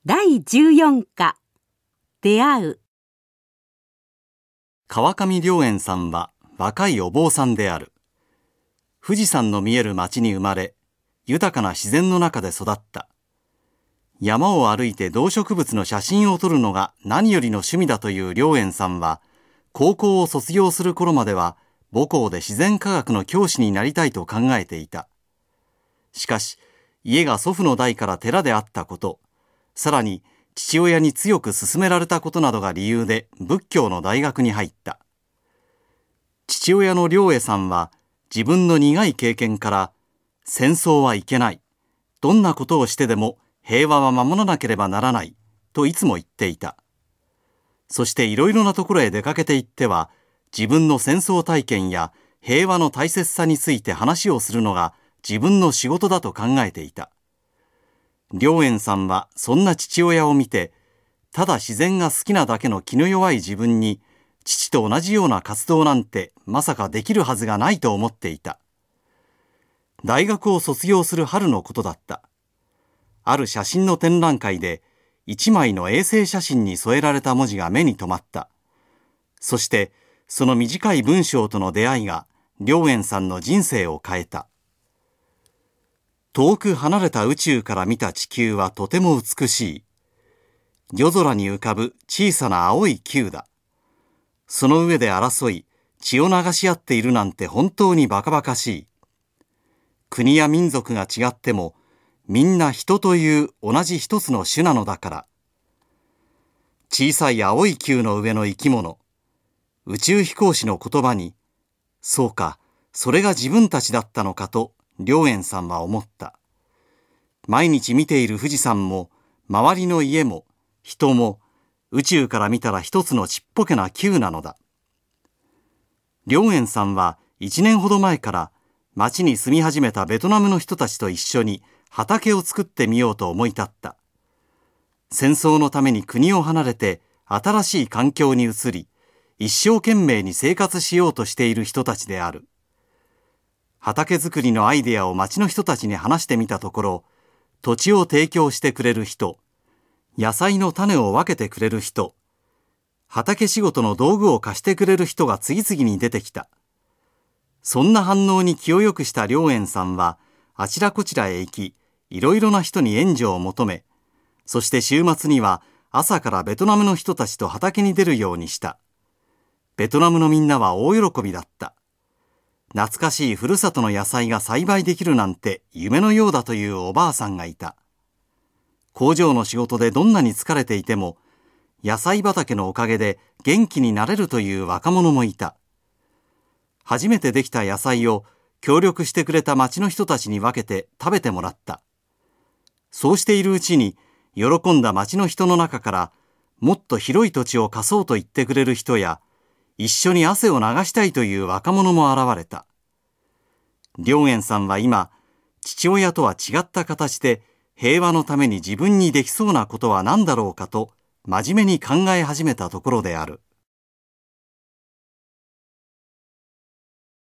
第14課出会う。 川上良円さんは若いお坊さんである。富士山の見える町に生まれ、豊かな自然の中で育った。山を歩いて動植物の写真を撮るのが何よりの趣味だという良円さんは、高校を卒業する頃までは母校で自然科学の教師になりたいと考えていた。しかし、家が祖父の代から寺であったこと、さらに父親に強く勧められたことなどが理由で仏教の大学に入った。父親の良栄さんは自分の苦い経験から戦争はいけない、どんなことをしてでも平和は守らなければならないといつも言っていた。そしていろいろなところへ出かけていっては自分の戦争体験や平和の大切さについて話をするのが自分の仕事だと考えていた。良円さんはそんな父親を見て、ただ自然が好きなだけの気の弱い自分に父と同じような活動なんてまさかできるはずがないと思っていた。大学を卒業する春のことだった。ある写真の展覧会で一枚の衛星写真に添えられた文字が目に留まった。そしてその短い文章との出会いが良円さんの人生を変えた。遠く離れた宇宙から見た地球はとても美しい。夜空に浮かぶ小さな青い球だ。その上で争い、血を流し合っているなんて本当にバカバカしい。国や民族が違っても、みんな人という同じ一つの種なのだから。小さい青い球の上の生き物、宇宙飛行士の言葉に、そうか、それが自分たちだったのかと、良円さんは思った。毎日見ている富士山も、周りの家も、人も、宇宙から見たら一つのちっぽけな球なのだ。良円さんは1年ほど前から町に住み始めたベトナムの人たちと一緒に畑を作ってみようと思い立った。戦争のために国を離れて新しい環境に移り、一生懸命に生活しようとしている人たちである。畑作りのアイデアを町の人たちに話してみたところ、土地を提供してくれる人、野菜の種を分けてくれる人、畑仕事の道具を貸してくれる人が次々に出てきた。そんな反応に気をよくした良円さんは、あちらこちらへ行き、いろいろな人に援助を求め、そして週末には朝からベトナムの人たちと畑に出るようにした。ベトナムのみんなは大喜びだった。懐かしいふるさとの野菜が栽培できるなんて夢のようだというおばあさんがいた。工場の仕事でどんなに疲れていても、野菜畑のおかげで元気になれるという若者もいた。初めてできた野菜を協力してくれた町の人たちに分けて食べてもらった。そうしているうちに、喜んだ町の人の中から、もっと広い土地を貸そうと言ってくれる人や、一緒に汗を流したいという若者も現れた。良円さんは今、父親とは違った形で平和のために自分にできそうなことは何だろうかと真面目に考え始めたところである。